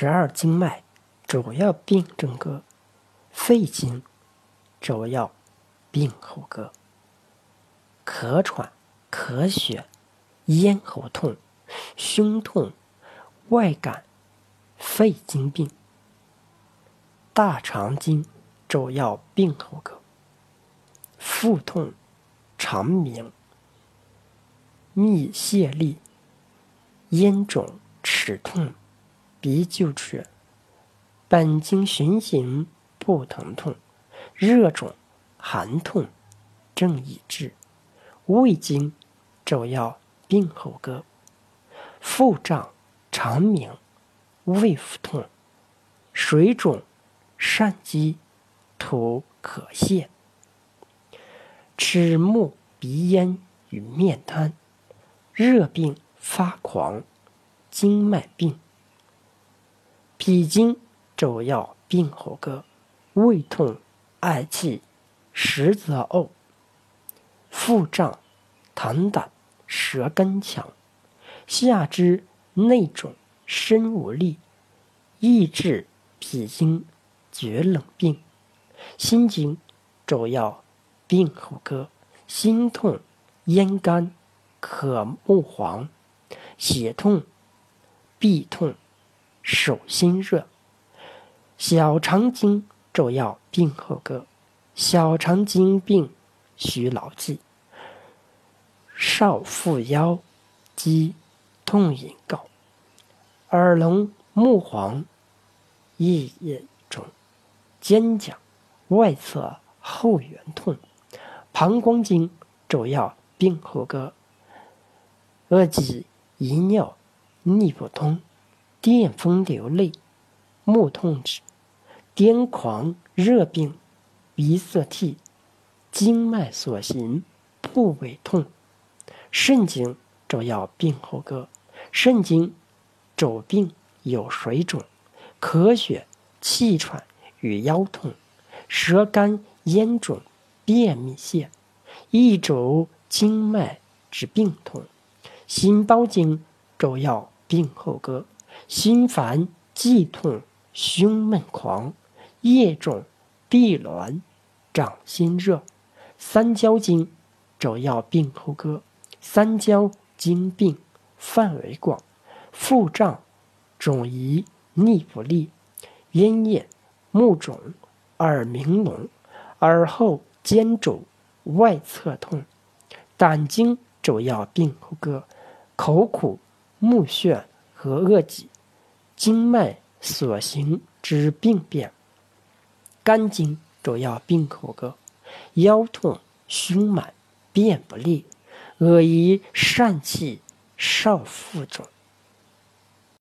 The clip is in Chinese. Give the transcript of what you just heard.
12经脉主要病症歌，肺经主要病候歌。咳喘、咳血、咽喉痛、胸痛、外感、肺经病。大肠经主要病候歌，腹痛、肠鸣、泌泻痢、咽肿、齿痛、鼻臼齿、本经循行不疼痛、热肿、寒痛、正已至。胃经主要病候歌，腹胀、肠鸣、胃腹痛、水肿、疝积、吐可泻。齿目鼻咽与面瘫，热病发狂，经脉病。脾经主要病候歌，胃痛、嗳气、实则呕、腹胀、痰胆、舌根强，下肢内肿、身无力。益智脾经厥冷病。心经主要病候歌，心痛、咽干、渴目黄、血痛、痹痛、手心热。小肠经主要病候歌，小肠经病需牢记。少腹腰肌痛饮告，耳聋目黄，夜眼肿，肩胛外侧后缘痛。膀胱经主要病候歌，恶疾遗尿、逆不通、电风流泪、目痛止、癫狂热病、鼻塞涕、经脉所行部位痛。肾经主要病候歌，肾经主病有水肿、咳血、气喘与腰痛，舌干咽肿、便秘泻，一主经脉之病痛。心包经主要病候歌，心烦悸痛、胸闷狂、夜肿、闭挛、掌心热。三焦经主要病候歌，三焦经病范围广，腹胀、肿遗、逆不利、咽咽、目肿、耳鸣聋、耳后肩肿、外侧痛。胆经主要病候歌，口苦、目眩和恶疾，经脉所行之病变。肝经主要病候歌，腰痛、胸满、便不利、恶遗、疝气、少腹肿。